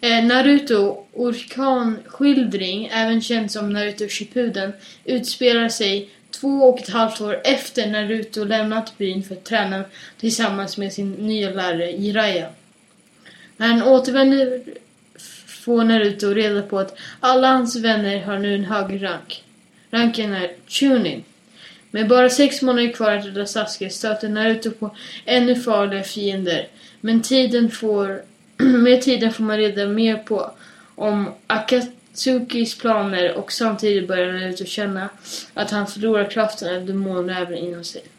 Naruto Orkanskildring, även känd som Naruto Shippuden, utspelar sig 2,5 år efter Naruto lämnat byn för att träna tillsammans med sin nya lärare Jiraiya. När han återvänder får Naruto reda på att alla hans vänner har nu en hög rank. Ranken är Chunin. Med bara 6 månader kvar att rädda Sasuke stöter Naruto på ännu farliga fiender. Men med tiden får man reda mer på om Akatsukis planer, och samtidigt börjar Naruto känna att han förlorar kraften av demonräven inom sig.